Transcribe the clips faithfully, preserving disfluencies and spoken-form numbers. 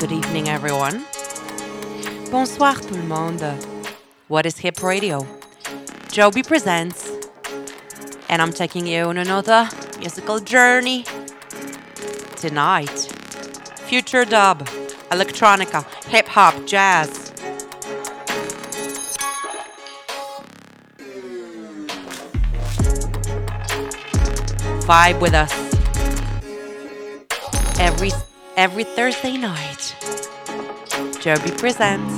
Good evening, everyone. Bonsoir, tout le monde. What is Hip Radio? Joby presents, and I'm taking you on another musical journey. Tonight, future dub, electronica, hip hop, jazz. Vibe with us every every Thursday night. Joby presents.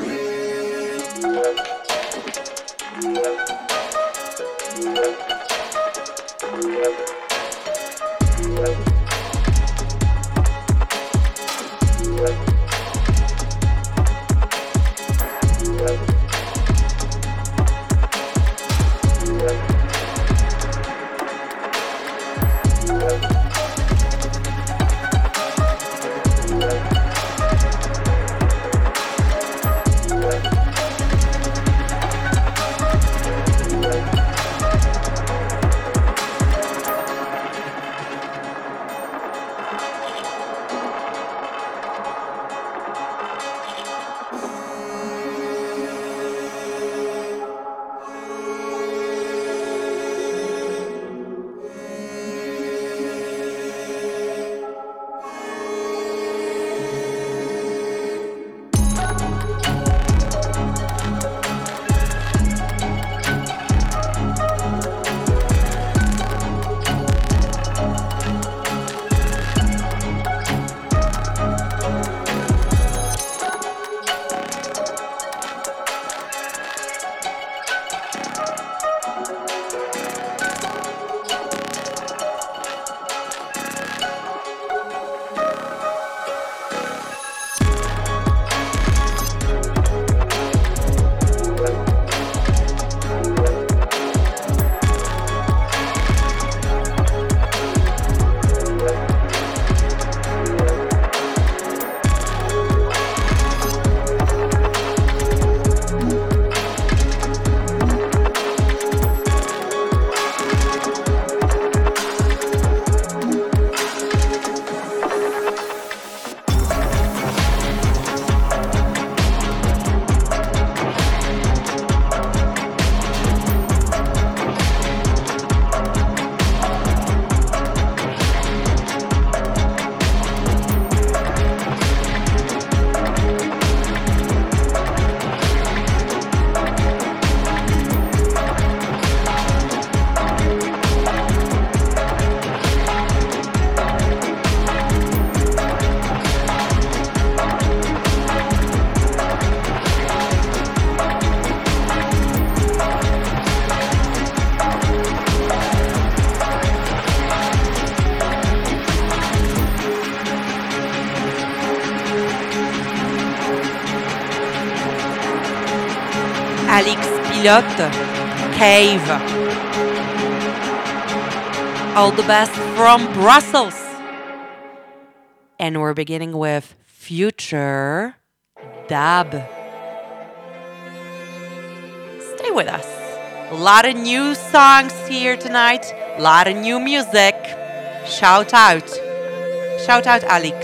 Alex Pilote, Cave. All the best from Brussels. And we're beginning with Future Dub. Stay with us. A lot of new songs here tonight. A lot of new music. Shout out. Shout out, Alex.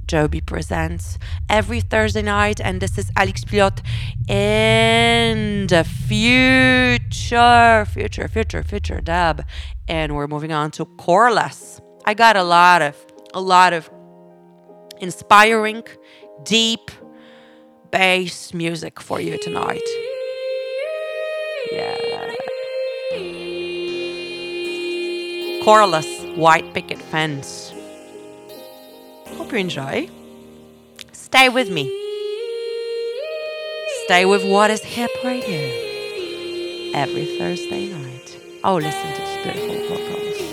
Joby Presents every Thursday night, and this is Alex Pilote in the future, future, future, future dub, and we're moving on to Coreless. I got a lot of, a lot of inspiring, deep bass music for you tonight. Yeah. Coreless, White Picket Fence. Hope you enjoy. Stay with me. Stay with What is Hip Radio every Thursday night. Oh, listen to this beautiful vocals.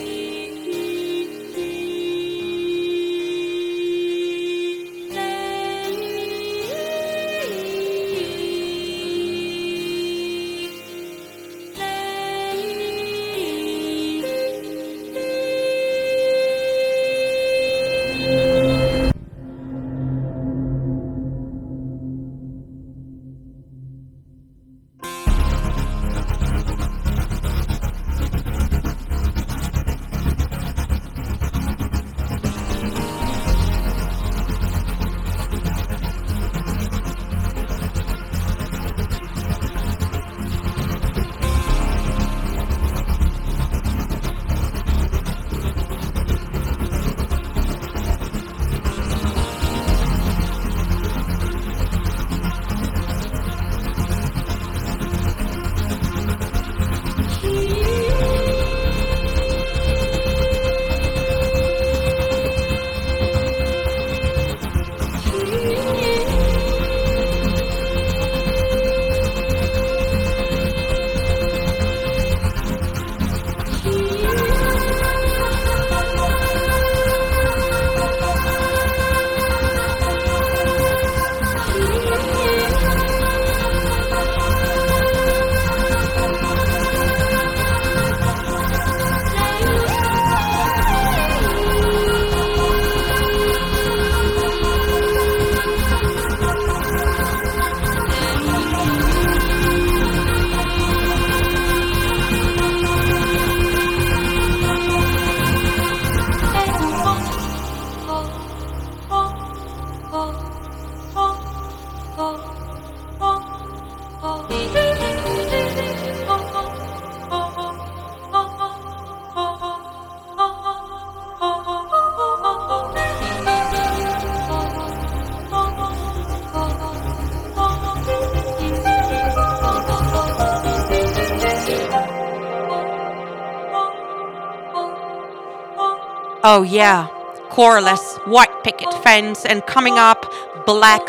Oh yeah, Coreless, White Picket Fence, and coming up, Black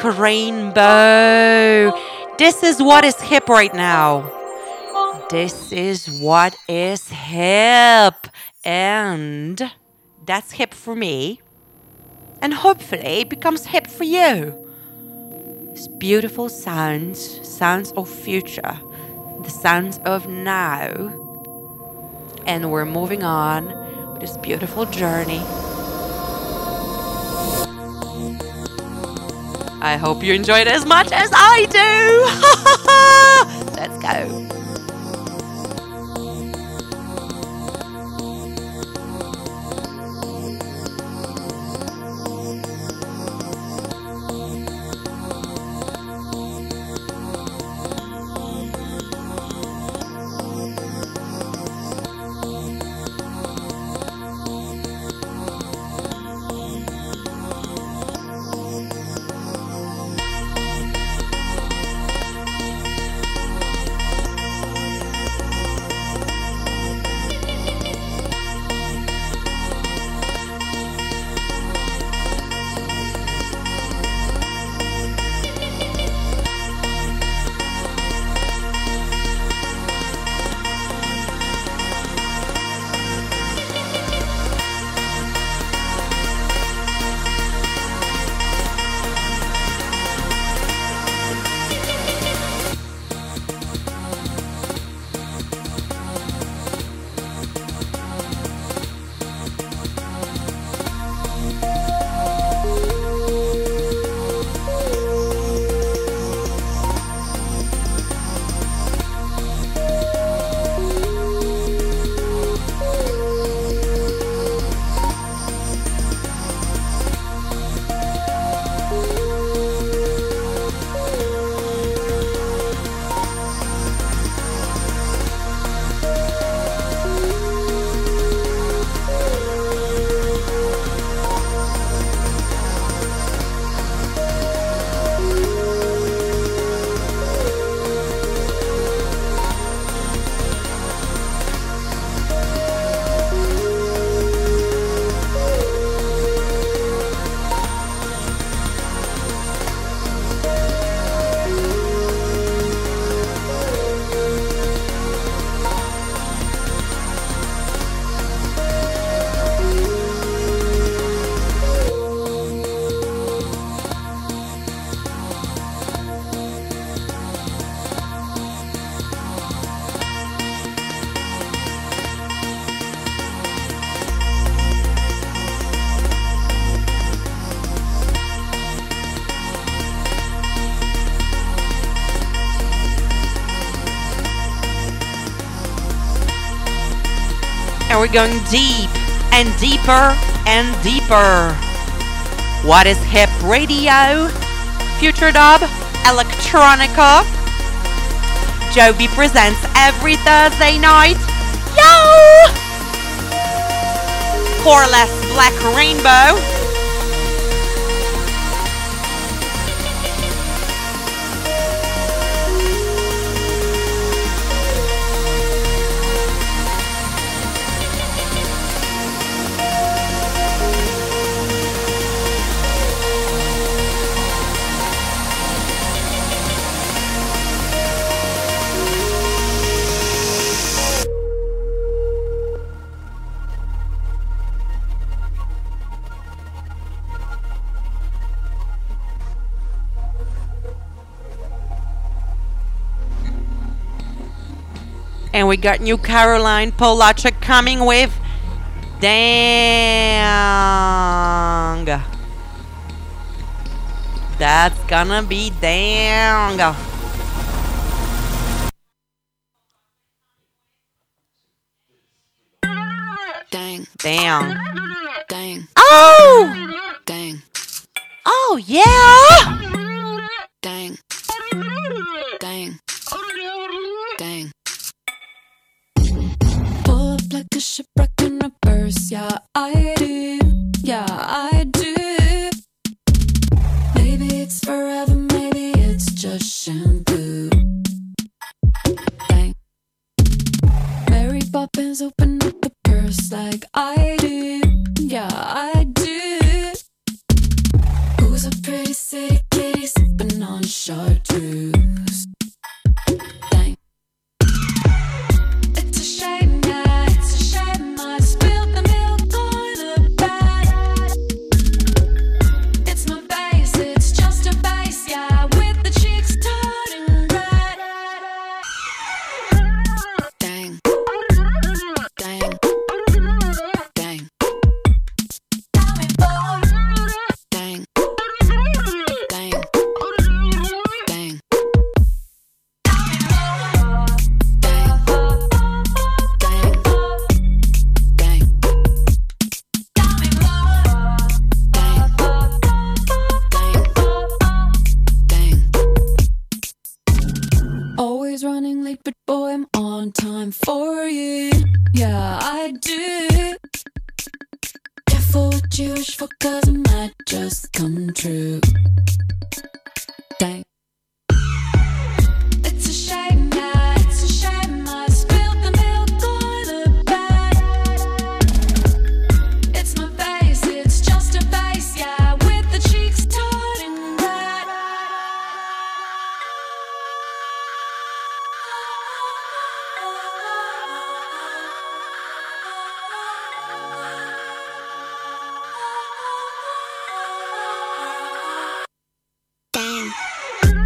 Rainbow. This is what is hip right now. This is what is hip. And that's hip for me. And hopefully it becomes hip for you. It's beautiful sounds, sounds of future, the sounds of now. And we're moving on with this beautiful journey. I hope you enjoyed it as much as I do. Let's go. And we're going deep and deeper and deeper. What is hip radio? Future dub, electronica. Joby presents every Thursday night. Yo! Coreless Black Rainbow. And we got New Caroline Polacek coming with Dang. That's gonna be dang. Dang. Dang. Dang. Oh! Dang. Oh, yeah! Dang. Dang. Dang. Pull up like a shipwreck in reverse. Yeah, I do. Yeah, I do. Maybe it's forever, maybe it's just shampoo. Dang. Mary Poppins open up the purse like I do. Yeah, I do. Who's a pretty city kitty sipping on chartreuse? Dang. It's a shame, yeah, it's a shame I spilled the milk on the bed. It's my face, it's just a face, yeah, with the cheeks turning red. Dang. Dang. Dang. Dang. Dang. Dang. Dang. Always running late, but boy, I'm on time for you. Yeah, I do. Careful what you wish for, cause it might just come true. Dang. It's a shame, yeah, it's a shame I spilled the milk on the bed. It's my face, it's just a face, yeah, with the cheeks turning red. Dang.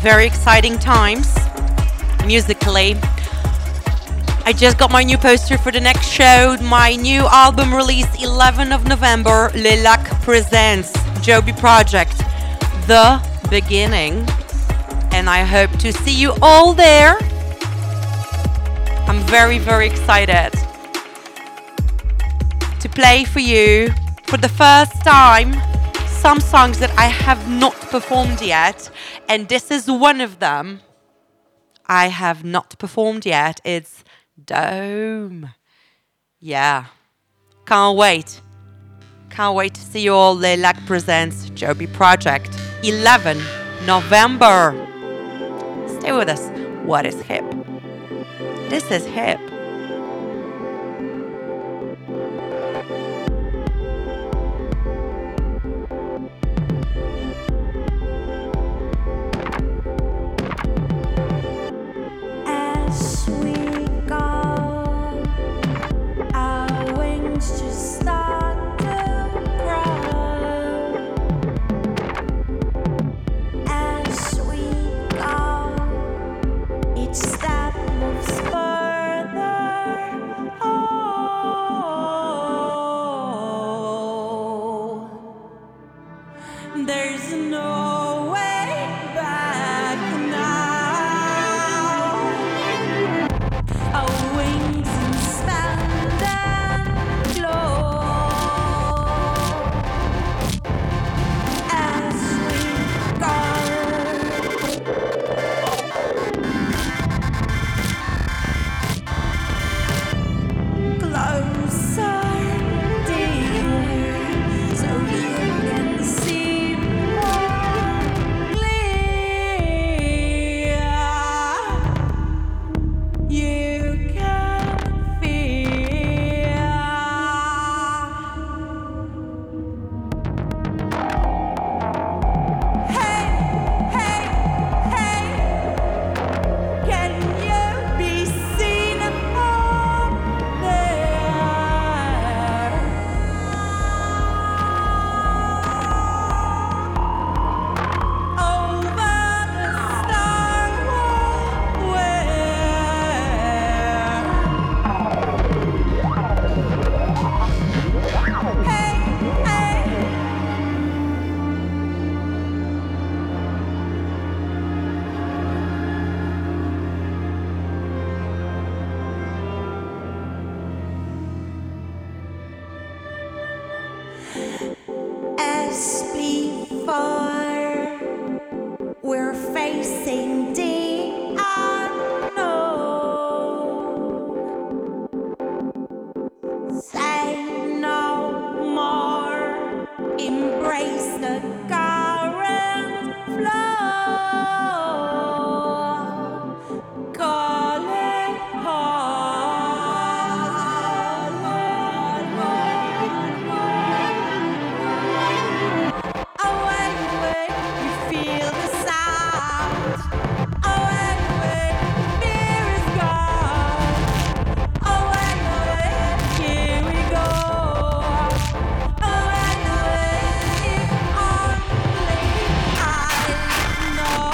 very exciting times musically. I just got my new poster for the next show, my new album release eleventh of November, Le Lac Presents, Joby Project, The Beginning. And I hope to see you all there. I'm very, very excited to play for you for the first time some songs that I have not performed yet. And this is one of them I have not performed yet. It's Dome. Yeah. Can't wait. Can't wait to see you all. Le Lac Presents Joby Project. eleventh of November. Stay with us. What is hip? This is hip. As we go, our wings just start to grow. As we go, each step moves further. Oh, there's no way back now. Our wings expand and glow as we go. Closer, dear, so you can see more clear. You can feel. Hey, hey, hey, can you be seen up there? Over the starward Hey, hey. As before, we're facing the unknown. Say no more, embrace the current flow. Calling away, away, you feel the sound. Away, away, fear is gone. Away, away, here we go. Away, away, if only I know.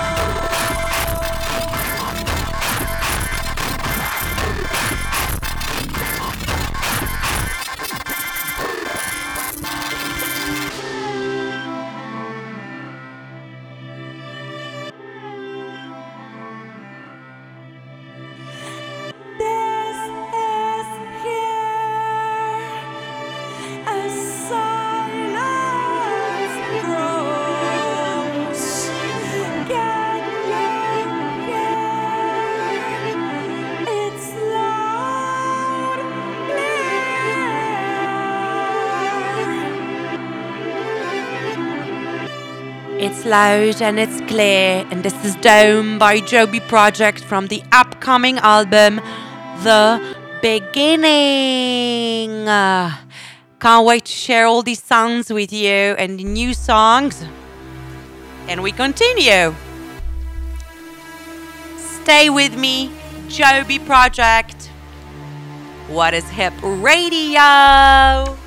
This is here as silence grows. Can you hear? It's loud, clear. It's loud and it's clear, and this is Dome by Joby Project from the upcoming album, The Beginning. Uh, can't wait to share all these sounds with you and the new songs. And we continue. Stay with me, Joby Project. What is Hip Radio?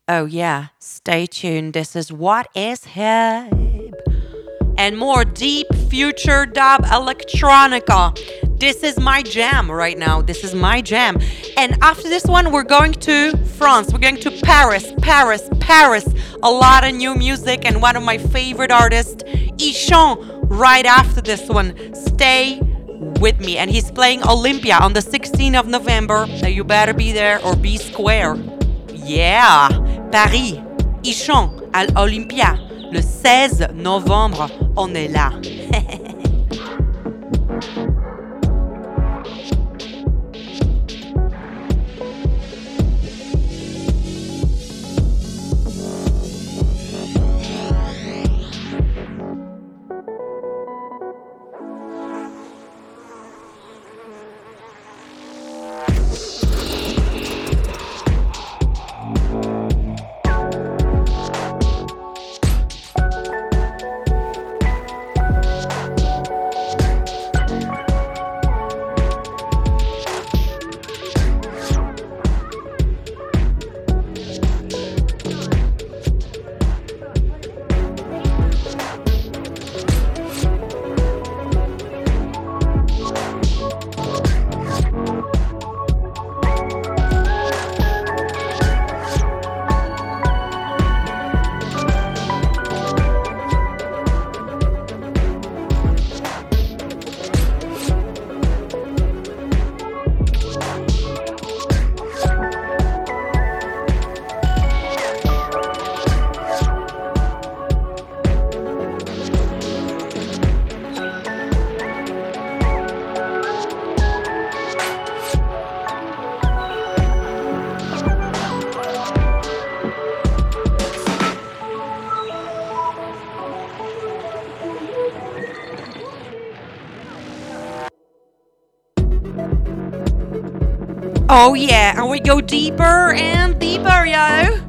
Oh, yeah, stay tuned. This is What is Hip? And more deep future dub electronica. This is my jam right now. This is my jam. And after this one, we're going to France. We're going to Paris, Paris, Paris. A lot of new music and one of my favorite artists, Ichon, right after this one. Stay with me. And he's playing Olympia on the sixteenth of November. Now you better be there or be square. Yeah, Paris, Ichon, à l'Olympia. Le seize novembre, on est là. Oh yeah, and we go deeper and deeper, yo.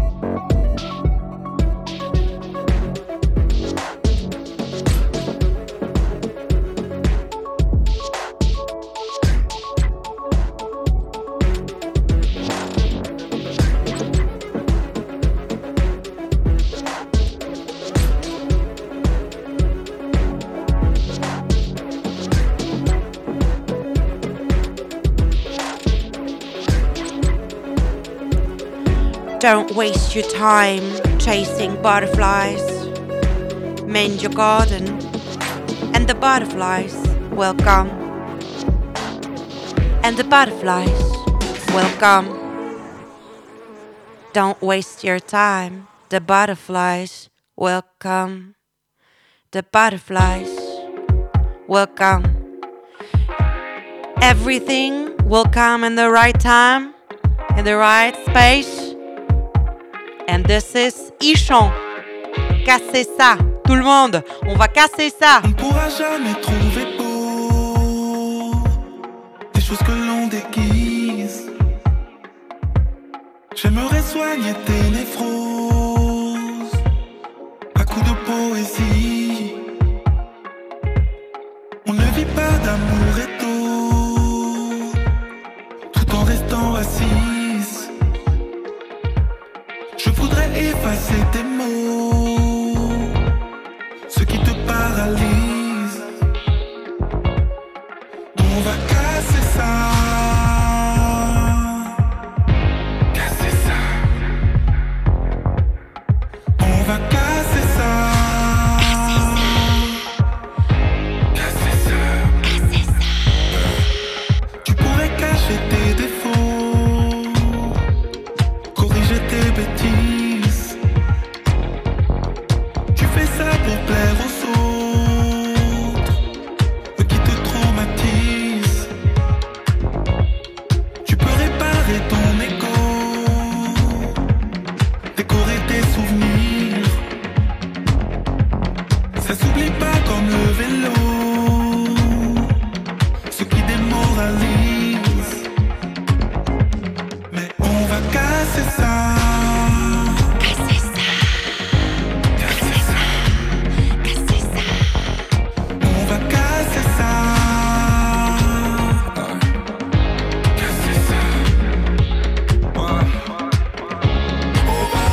Don't waste your time chasing butterflies. Mend your garden, and the butterflies will come. And the butterflies will come. Don't waste your time. The butterflies will come. The butterflies will come. Everything will come in the right time, in the right space. And this is Ichon. Cassez ça, tout le monde. On va casser ça. On ne pourra jamais trouver beau des choses que l'on déguise. J'aimerais soigner tes névroses à coups de poésie. On ne vit pas d'amour et d'eau tout en restant assis. Je voudrais effacer tes mots, ce qui te paralyse. On va casser ça, casser ça. On va casser ça, casser ça, casser ça. Tu pourrais cacher tes défauts, corriger tes bêtises. Tu fais ça pour plaire aux autres, eux qui te traumatisent. Tu peux réparer ton ego, décorer tes souvenirs. Ça s'oublie pas comme le vélo, ce qui démoralise. Mais on va casser ça. Oh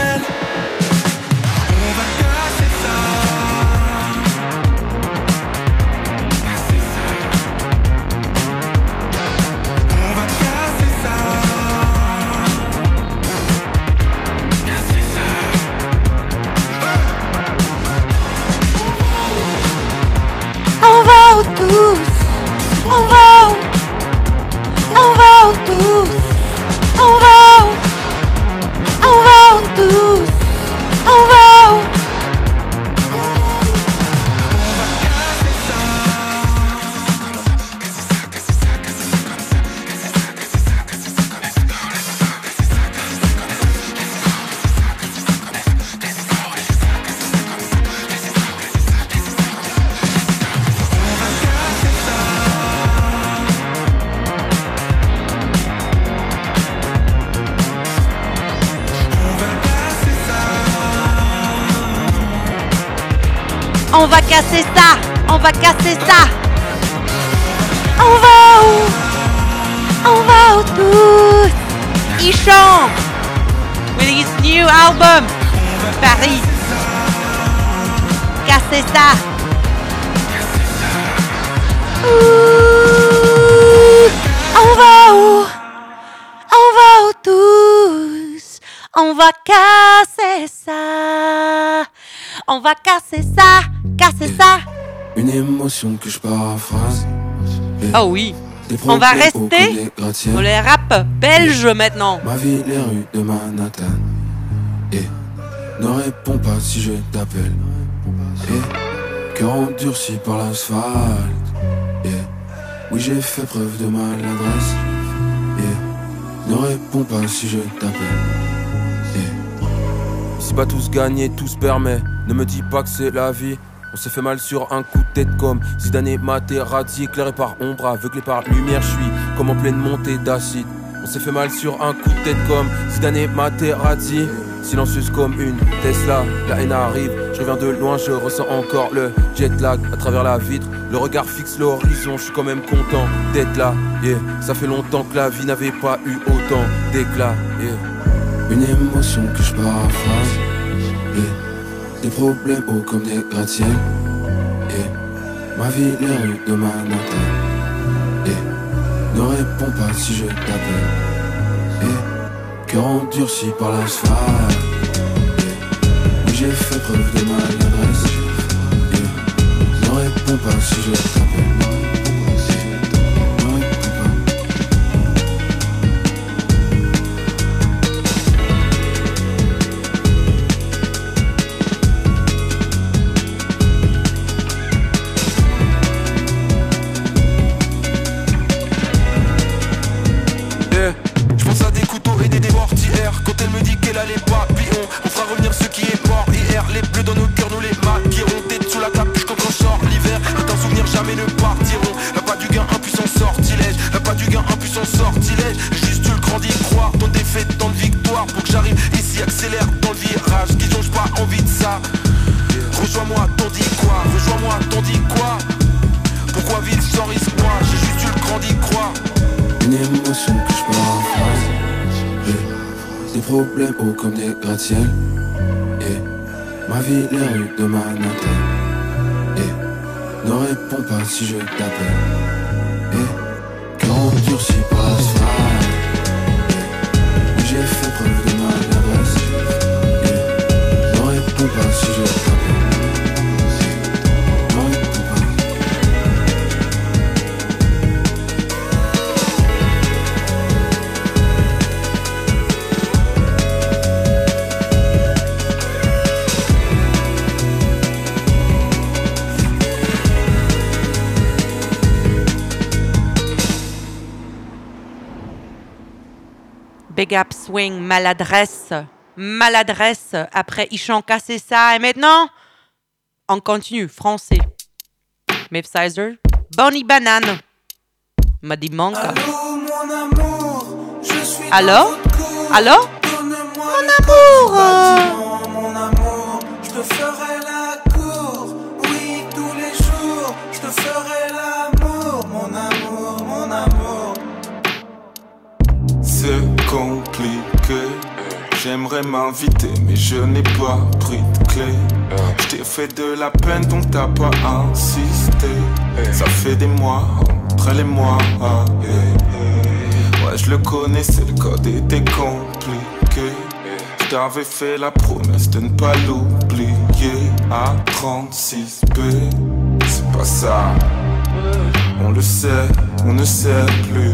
belle. On va casser ça. Casser ça. On va casser ça. Casser ça. On va où tous, on va où, on va où tous, on va où, on va où tous, on va où. On va casser ça, on va casser ça. On va où, on va où tous. Ichon, with his new album, Paris. Casser ça. Ouh, on va où, on va où tous. On va casser ça. On va casser ça, casser ça. Une émotion que je paraphrase. Oh oui. On va rester sur les rap belges maintenant. Ma vie, les rues de Manhattan. Et ne réponds pas si je t'appelle. Et cœur endurci par l'asphalte. Et oui, j'ai fait preuve de maladresse. Et ne réponds pas si je t'appelle. Et si pas tous gagner, tous permet. Ne me dis pas que c'est la vie. On s'est fait mal sur un coup de tête comme Zidane et Materazzi, éclairé par ombre, aveuglé par lumière, je suis comme en pleine montée d'acide. On s'est fait mal sur un coup de tête comme Zidane et Materazzi, silencieuse comme une Tesla, la haine arrive, je reviens de loin, je ressens encore le jet lag à travers la vitre, le regard fixe l'horizon, je suis quand même content d'être là, yeah. Ça fait longtemps que la vie n'avait pas eu autant d'éclat, yeah. Une émotion que je paraphrase, yeah. Des problèmes hauts comme des gratte-ciel. Et ma vie, les rues de Manhattan. Et ne réponds pas si je t'appelle. Et cœur endurci par l'asphalte. Et oui, j'ai fait preuve de maladresse. Et ne réponds pas si je t'appelle. Problèmes hauts comme des gratte-ciel. Et ma vie, les rues de Manhattan. Et ne réponds pas si je t'appelle. Et cœur endurci par l'asphalte. Et j'ai fait preuve de maladresse. Et ne réponds pas si je t'appelle. Ne réponds pas. Big Up Swing, maladresse, maladresse, après Ichon cassé ça, et maintenant, on continue, français. Miff Sizer, Bonnie Banane, Muddy Monk. Allô, mon amour, je suis Allô? Allô? Mon amour! Mon amour, je te ferai la cour, oui, tous les jours, je te ferai l'amour, mon amour, mon amour. C'est compliqué, j'aimerais m'inviter invité, mais je n'ai pas pris de clé. Je t'ai fait de la peine, donc t'as pas insisté. Ça fait des mois, entre elle et moi. Ouais, je le connaissais, le code était compliqué. Je t'avais fait la promesse de ne pas l'oublier. À trente-six B, c'est pas ça. On le sait, on ne sait plus.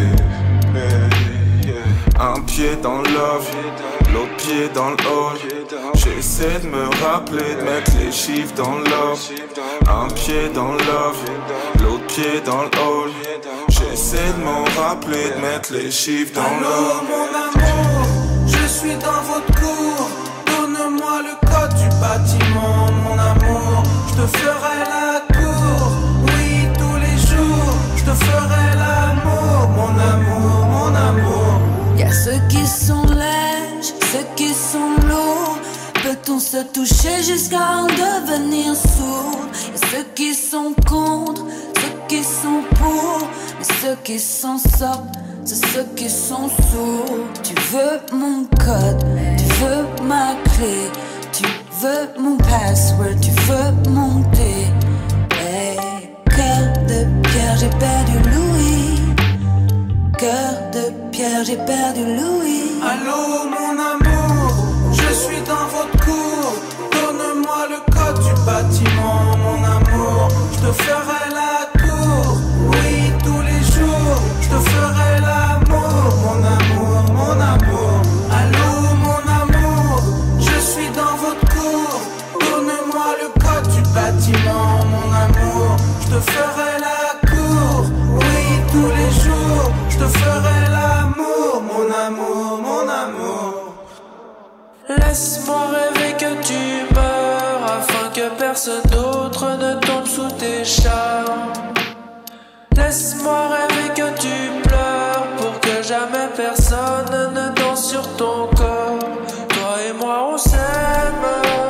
Un pied dans le love, l'autre pied dans le hall. J'essaie de me rappeler, de mettre les chiffres dans le love. Un pied dans le love, l'autre pied dans le hall. J'essaie de m'en rappeler, de mettre les chiffres dans le love. Allô mon amour, je suis dans votre cour. Donne-moi le code du bâtiment, mon amour. Je te ferai la cour, oui tous les jours. Je te ferai l'amour, mon amour, mon amour. Y'a ceux qui sont lèges, ceux qui sont lourds. Peut-on se toucher jusqu'à en devenir sourd? Y'a ceux qui sont contre, ceux qui sont pour. Mais ceux qui s'en sortent, c'est ceux qui sont sourds. Tu veux mon code, tu veux ma clé. Tu veux mon password, tu veux monter. Hey, cœur de pierre, j'ai perdu Louis. Cœur de pierre, j'ai perdu Louis. Allô mon amour, je suis dans votre cour. Donne-moi le code du bâtiment, mon amour. Je te ferai la cour, oui tous les jours. Je te ferai l'amour, mon amour, mon amour. Allô mon amour, je suis dans votre cour. Donne-moi le code du bâtiment, mon amour. Je te ferai la cour, oui tous les jours. Je te ferai l'amour, mon amour, mon amour. Laisse-moi rêver que tu meurs, afin que personne d'autre ne tombe sous tes charmes. Laisse-moi rêver que tu pleures, pour que jamais personne ne danse sur ton corps. Toi et moi on s'aime,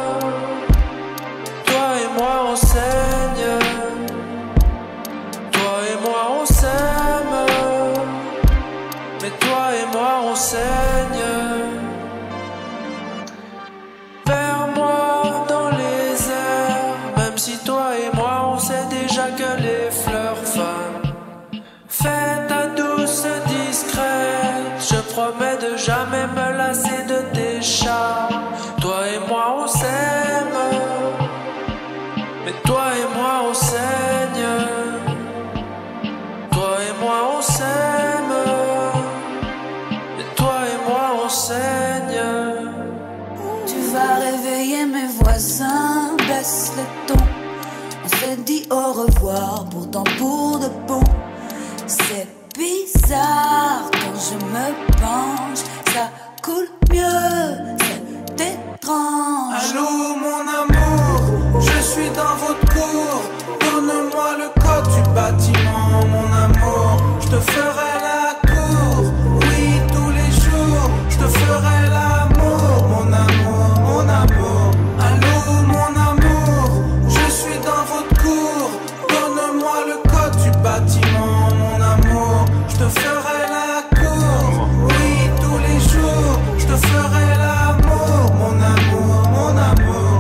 toi et moi on saigne. Toi et moi on s'aime, mais toi et moi on saigne. Vers moi dans les airs, même si toi et moi on sait déjà que les fleurs fanent. Fais ta douce discrète, je promets de jamais me lasser de tes charmes. Toi et moi on s'aime, mais toi et moi on saigne. Toi et moi on s'aime, mais toi et moi on saigne. Tu vas réveiller mes voisins, baisse le ton. On s'est dit au revoir, pourtant pour de bon. C'est bizarre quand je me penche, ça coule mieux, c'est étrange. Allô mon amour, je suis dans votre cour. Donne-moi le code du bâtiment, mon amour. Je te ferai la cour, oui tous les jours. Je te ferai l'amour, mon amour, mon amour. Allô mon amour, je suis dans votre cour. Donne-moi le code du bâtiment, mon amour. Je te ferai la cour, oui tous les jours. Je te ferai l'amour, mon amour, mon amour.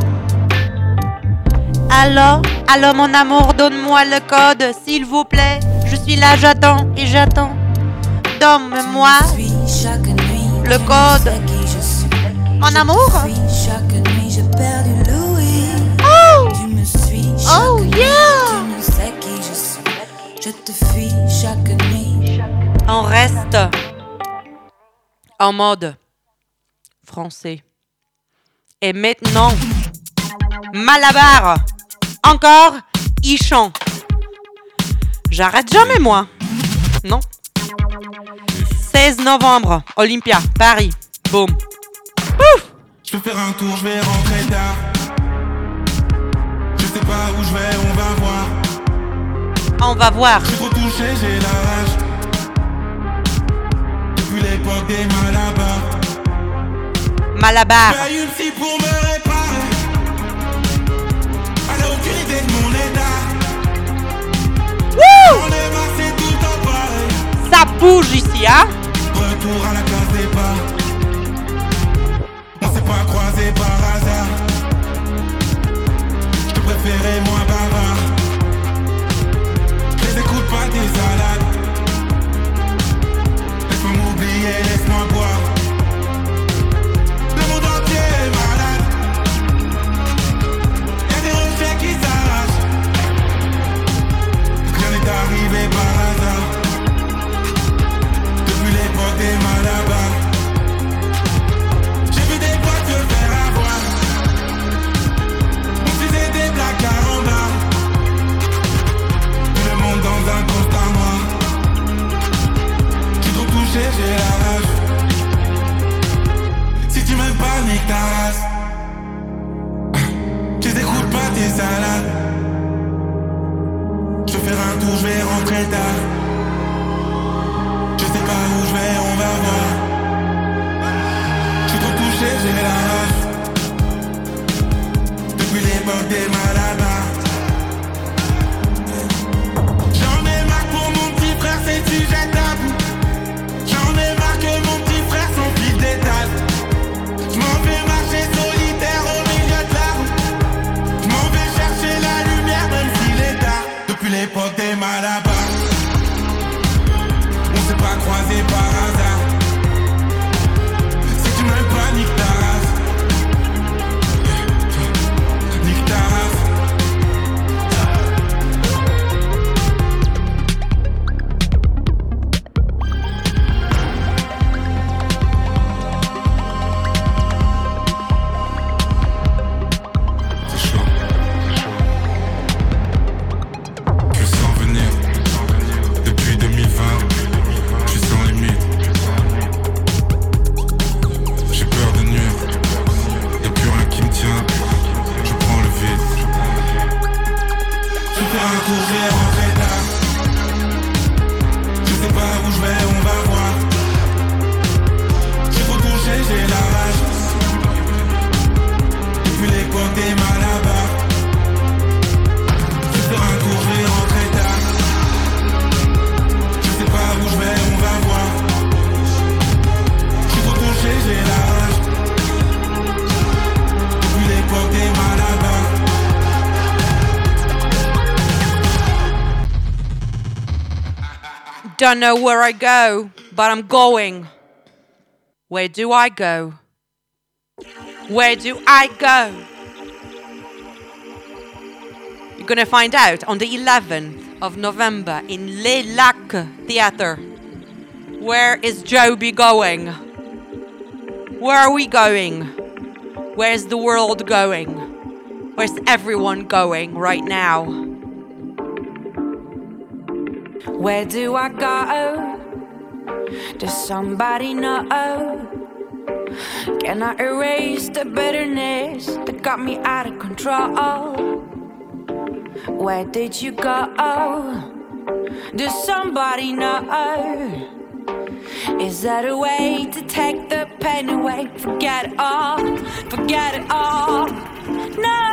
Allô, allô mon amour, donne-moi le code, s'il vous plaît. Je suis là, j'attends et j'attends. Donne-moi le code. Mon amour. Chaque nuit, j'ai perdu Louis. Oh, Tu me suis chaque oh nuit. yeah. Tu ne sais qui je suis. Je te fuis chaque nuit. On reste en mode français. Et maintenant, Malabar. Encore, il chante. J'arrête jamais, moi. Non. seize novembre, Olympia, Paris. Boum. Ouf. Je peux faire un tour, je vais rentrer tard. Je sais pas où je vais, on va voir. On va voir. Je suis trop touché, j'ai la rage. Depuis l'époque des Malabar. Malabar. J'ai une psy pour me réparer. Elle a aucune idée de mon état. Wouh. On est massé tout en pareil. Ça bouge ici, hein. Retour à la case départ. On sait pas croisé par hasard. Je te préférais moins bavard. Je les écoute pas tes salades. Laisse-moi m'oublier, laisse-moi boire. Le monde entier est malade. Y'a des rochers qui s'arrachent. Rien n'est arrivé par hasard. Depuis l'époque des Malabar. J'ai vu des voitures faire avoir. On faisait des blagues carambars. Tout le monde dans un constat noir. J'suis trop touché, j'ai la rage. Si tu m'aimes pas, nique ta race. Je les écoute pas tes salades. Je vais faire un tour, je vais rentrer tard. Je sais pas où je vais, on va voir. J'suis trop touché, j'ai la rage. Depuis l'époque des Malabar. J'en ai marre pour mon petit frère, c'est sujet tabou. J'en ai marre que mon petit frère son fils d'étal. J'm'en vais marcher solitaire au milieu de la route. J'm'en vais chercher la lumière même s'il est tard. Depuis l'époque des Malabar. On s'est pas croisé par hasard. Si tu m'aimes pas, nique ta race. Nique ta race. C'est chaud. Je sens venir. Depuis deux mille vingt, je suis sans limite. J'ai peur de nuire. Y'a plus rien qui me tient. Je prends le vide. Je vais faire un tour, je vais rentrer tard. Je sais pas où je vais, on va voir. J'ai trop touché, j'ai la rage. Depuis l'époque des Malabar. Je vais faire un tour, je vais rentrer tard. Je sais pas où je vais, on va voir. J'suis trop touché, j'ai la rage. Depuis l'époque des Malabar. Don't know where I go, but I'm going. Where do I go? Where do I go? You're gonna find out on the eleventh of November in Les Lacs Theatre. Where is Joby going? Where are we going? Where's the world going? Where's everyone going right now? Where do I go? Does somebody know? Can I erase the bitterness that got me out of control? Where did you go? Does somebody know? Is that a way to take the pain away? Forget it all, forget it all. No.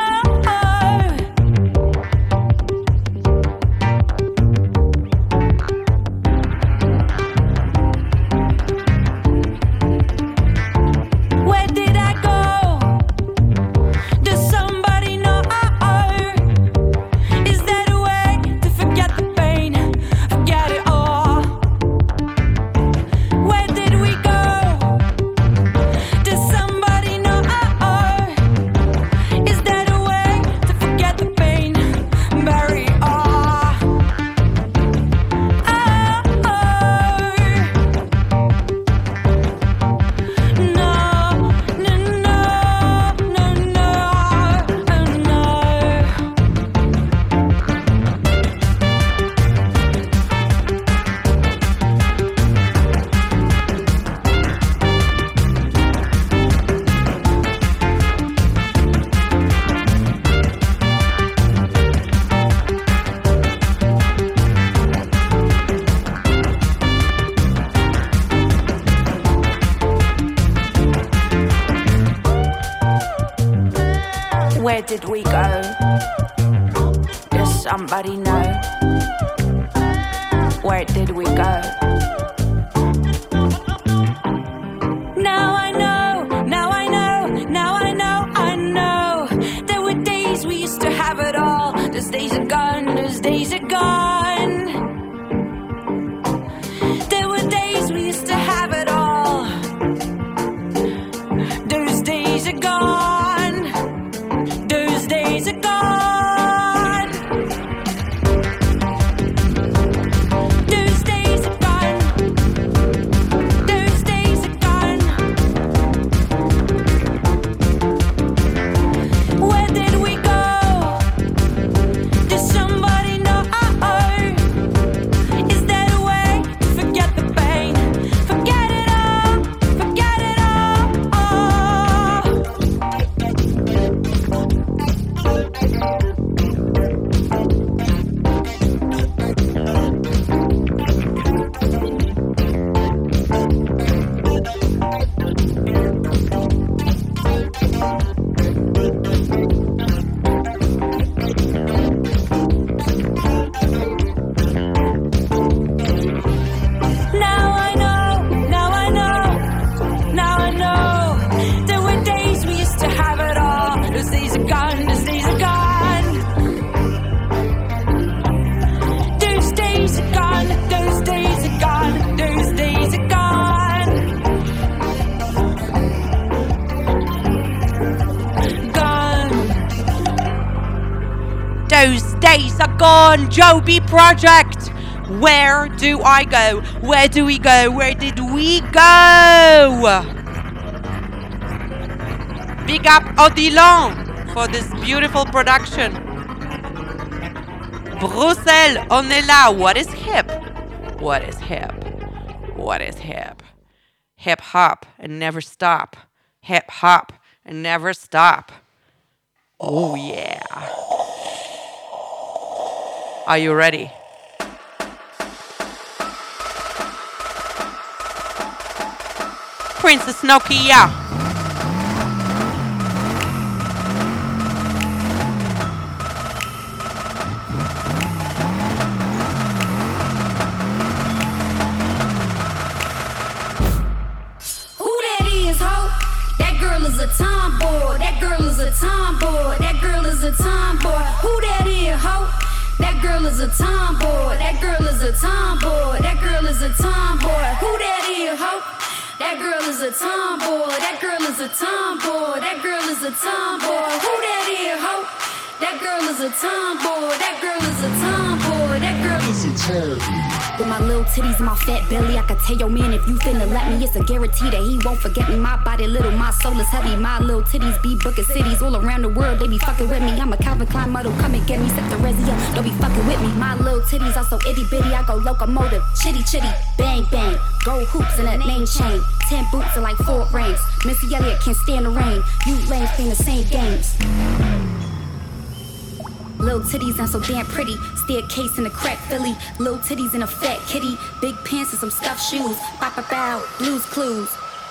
Where did we go? Does somebody know? Where did we go? Now I know, now I know, now I know. Those days are gone. Joby Project. Where do I go? Where do we go? Where did we go? Big up Odilon for this beautiful production. Bruxelles, on est là. What is hip? What is hip? What is hip? Hip hop and never stop. Hip hop and never stop. Oh yeah. Are you ready? Princess Nokia. Is a tomboy. That girl is a tomboy. That girl is a tomboy. Who that is, ho? That girl is a tomboy. That girl is a tomboy. That girl is a tomboy. Who that is, ho? That girl is a tomboy. That girl is a tomboy. That girl is a tomboy. Who that is, ho? That girl is a tomboy. That girl is a tomboy. That girl is a tomboy. With my little titties and my fat belly, I could tell your man if you finna let me, it's a guarantee that he won't forget me. My body little, my soul is heavy. My little titties be booking cities all around the world. They be fucking with me. I'm a Calvin Klein model, come and get me. Sip the resi up, don't be fucking with me. My little titties are so itty bitty, I go locomotive, chitty chitty, bang bang. Gold hoops and a name chain, ten boots and like four rings. Missy Elliott can't stand the rain. You lames playing the same games. Little titties and so damn pretty. Staircase in a crack Philly. Little titties and a fat kitty. Big pants and some stuffed shoes. Bow bow bow. Blues Clues.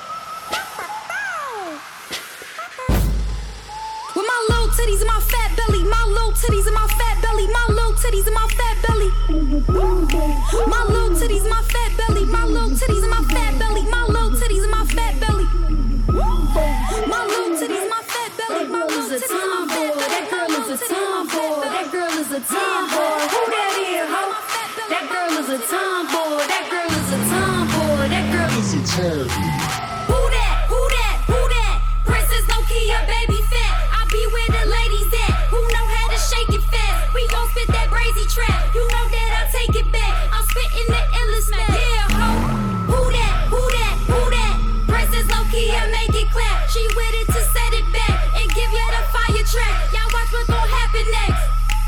With my little titties and my fat belly. My little titties and my fat belly. My little titties and my fat belly. My little titties and my fat belly. My little titties and my fat belly. My little titties and my fat belly. My little titties and my fat belly. My little titties and my fat belly. That girl is a tomboy. That girl is a tomboy. Who that is, ho? That girl is a tomboy. That girl is a tomboy. That girl is a tomboy. Who that? Who that? Who that? Princess Nokia, baby fat. I be where the ladies at. Who know how to shake it fast? We gon' spit that brazy trap. You know that I take it back. I'm spitting the endless smack. Yeah, ho. Who that? Who that? Who that? Princess Nokia, make it clap. She with it to set it back and give you the fire track. Y'all watch what's gon' happen next.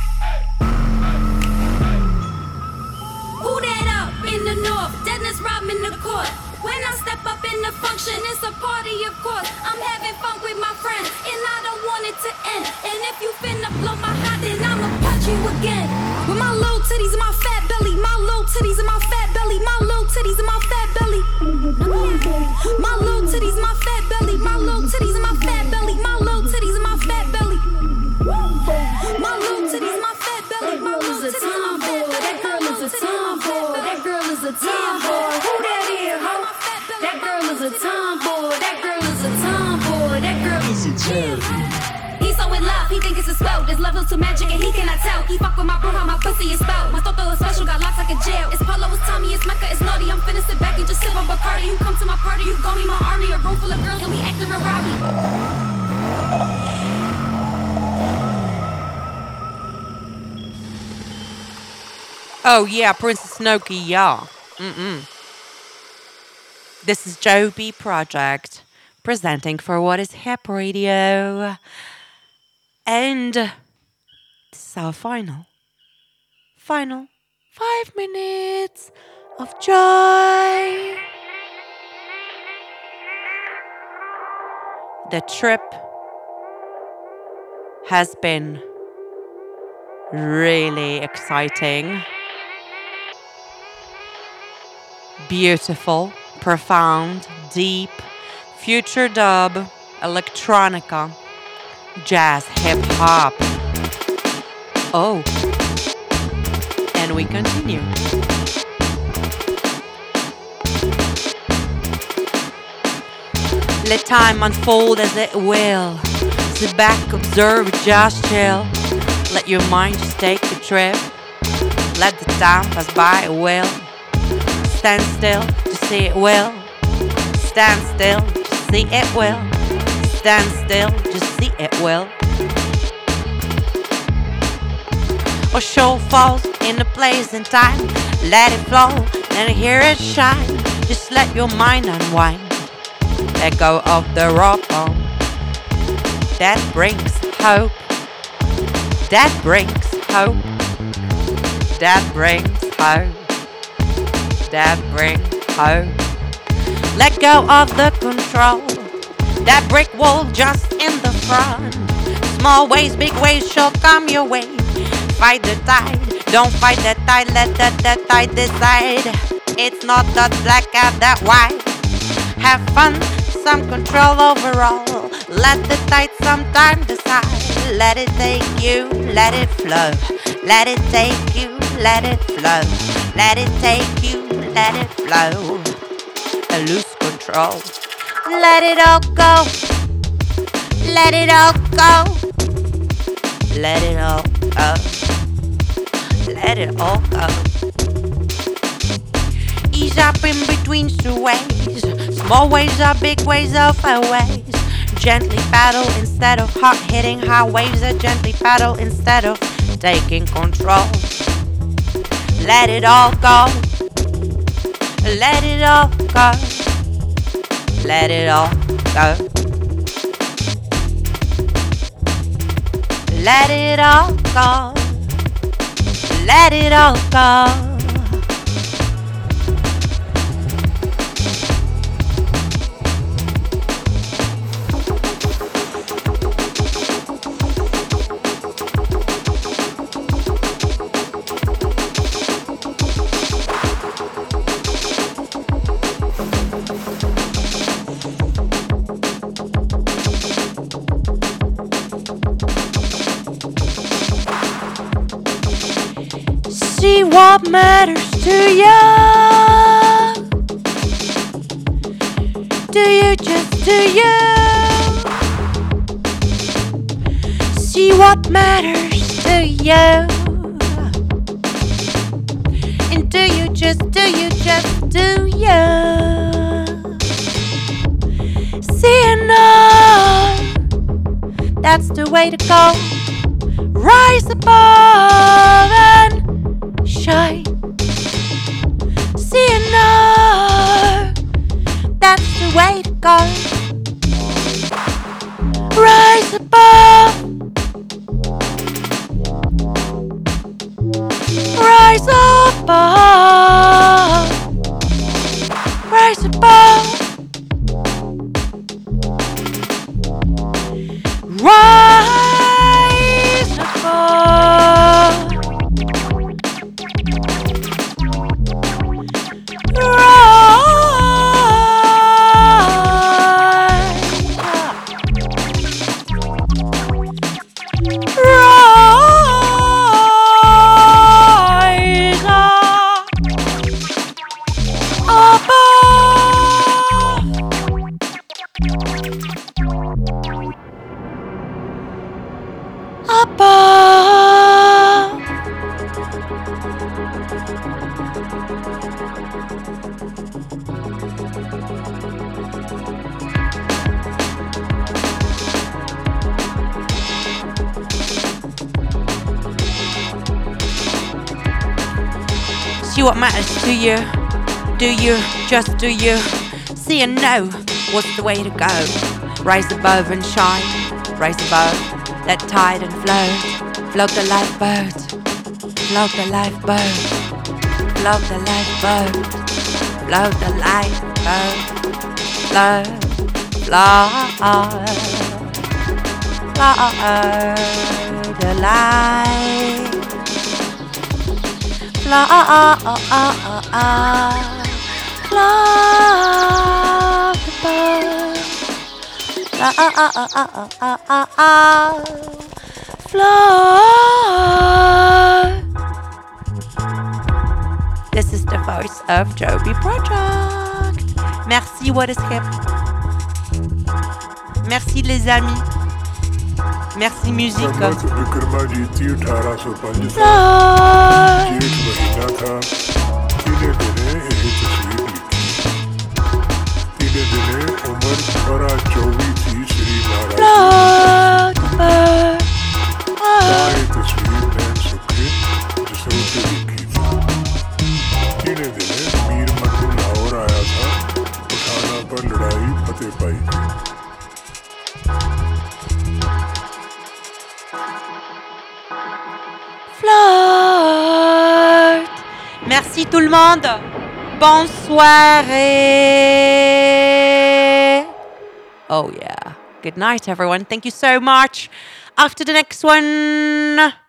Who that up in the north? Dennis Rodman the court. When I step up in the function, it's a party, of course. I'm having fun with my friends, and I don't want it to end. And if you finna blow my hot, then I'ma punch you again. With my little titties and my fat belly, my little titties and my fat belly, my little titties and my fat belly. My little titties and my fat belly, my little titties and my fat belly, my little titties and my fat belly. My little titties and my fat belly, my little titties and my fat belly. That girl is a tomboy. That girl is a tomboy. Who that is, ho? That girl is a tomboy. That girl is a tomboy. That girl is a tomboy. He's so in love, he think it's a spell. This love is too magic and he cannot tell. He fuck with my bro, how my pussy is spelled. My toto is special, got locks like a jail. It's Polo, it's Tommy, it's Mecca, it's naughty. I'm finna sit back and just sip on Bacardi. You come to my party, you gon' be my army. A room full of girls and we acting real rowdy. Oh yeah, Princess Nokia. Mm-mm. This is Joby Project presenting for What is Hip Radio. And this is our final, final five minutes of joy. The trip has been really exciting, beautiful, profound, deep, future dub, electronica, jazz, hip hop. Oh, and we continue. Let time unfold as it will. Sit back, observe, just chill. Let your mind just take a trip. Let the time pass by, it will. Stand still, just see it will. Stand still, just see it will. Stand still, just see it will. or show falls in the place and time. Let it flow and hear it shine. Just let your mind unwind. Let go of the raw bone. That brings hope. That brings hope. That brings hope. That brings hope. Let go of the control. That brick wall just in the front. Small ways, big ways shall come your way. Fight the tide, don't fight the tide. Let the, the tide decide. It's not that black and that white. Have fun, some control overall. Let the tide sometime decide. Let it take you, let it flow. Let it take you, let it flow. Let it take you, let it flow. Lose control. Let it all go. Let it all go. Let it all go. Let it all go. Ease up in between two ways. Small waves are big waves of ways. Gently paddle instead of hard hitting high waves. That gently paddle instead of taking control. Let it all go. Let it all go. Let it all go. Let it all go. Let it all go. See what matters to you. Do you just do you? See what matters to you. And do you just, do you just do you? See enough. That's the way to go. Rise above and shine. See enough. That's the way to go. Rise above. Rise above. Rise above. Rise above. See what matters to you. Do you, just do you. See and know what's the way to go. Rise above and shine. Rise above, let tide and float. Float the lifeboat. Float the lifeboat. Float the lifeboat. Float the lifeboat. Float, float, float the light. Float, float the boat. Float. This is the voice of Joby Project. Merci, What is Hip. Merci les amis. Merci musique. Float. Float. Merci tout le monde. Bonne soirée. Oh yeah. Good night, everyone. Thank you so much. After the next one.